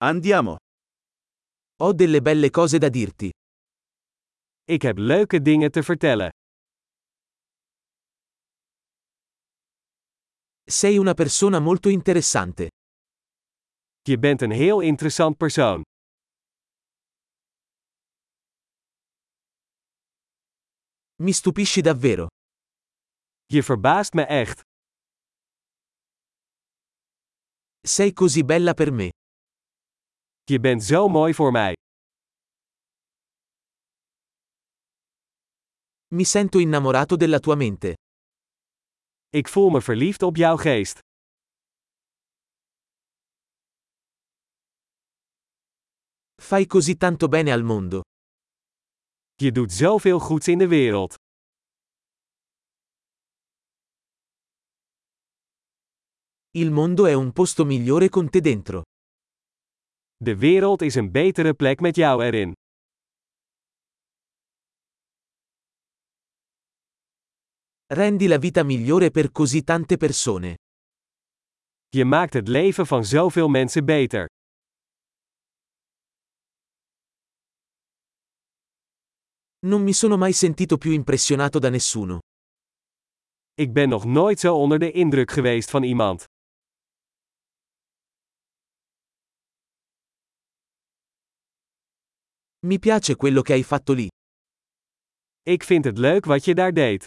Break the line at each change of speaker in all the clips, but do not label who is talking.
Andiamo.
Ho delle belle cose da dirti.
Ik heb leuke dingen te vertellen.
Sei una persona molto interessante.
Je bent een heel interessant persoon.
Mi stupisci davvero.
Je verbaast me echt.
Sei così bella per me.
Je bent zo mooi voor mij.
Mi sento innamorato della tua mente.
Ik voel me verliefd op jouw geest.
Fai così tanto bene al mondo.
Je doet zoveel goeds in de wereld.
Il mondo è un posto migliore con te dentro.
De wereld is een betere plek met jou erin.
Rendi la vita migliore per così tante persone.
Je maakt het leven van zoveel mensen beter.
Non mi sono mai sentito più impressionato da nessuno.
Ik ben nog nooit zo onder de indruk geweest van iemand.
Mi piace quello che hai fatto lì.
Ik vind het leuk wat je daar deed.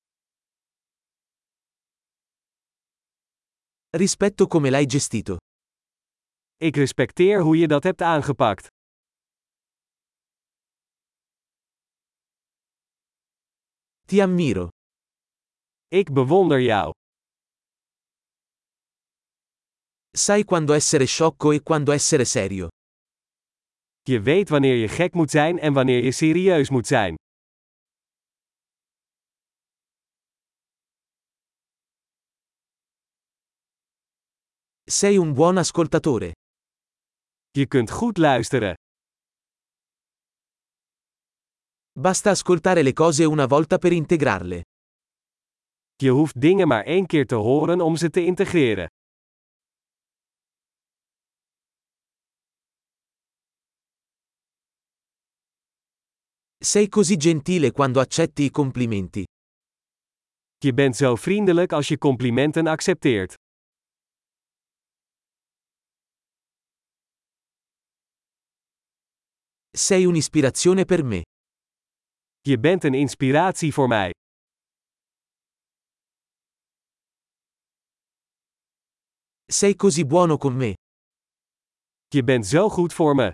Rispetto come l'hai gestito.
Ik respecteer hoe je dat hebt aangepakt.
Ti ammiro.
Ik bewonder jou.
Sai quando essere sciocco e quando essere serio.
Je weet wanneer je gek moet zijn en wanneer je serieus moet zijn.
Sei un buon ascoltatore.
Je kunt goed luisteren.
Basta ascoltare le cose una volta per integrarle.
Je hoeft dingen maar één keer te horen om ze te integreren.
Sei così gentile quando accetti i complimenti.
Je bent zo vriendelijk als je complimenten accepteert.
Sei un'ispirazione per me.
Je bent een inspiratie voor mij.
Sei così buono con me.
Je bent zo goed voor me.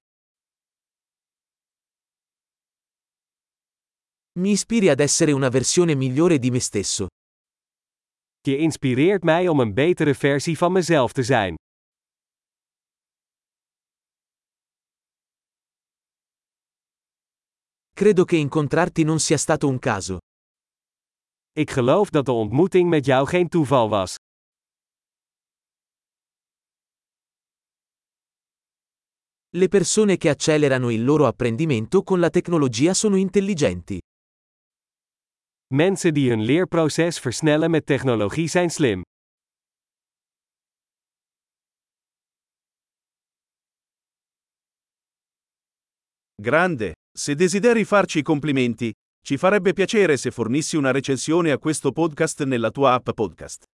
Mi ispiri ad essere una versione migliore di me stesso.
Je inspireert mij om een betere versie van mezelf te zijn.
Credo che incontrarti non sia stato un caso.
Ik geloof dat de ontmoeting met jou geen toeval was.
Le persone che accelerano il loro apprendimento con la tecnologia sono intelligenti.
Mensen die hun leerproces versnellen met technologie zijn slim.
Grande. Se desideri farci i complimenti, ci farebbe piacere se fornissi una recensione a questo podcast nella tua app podcast.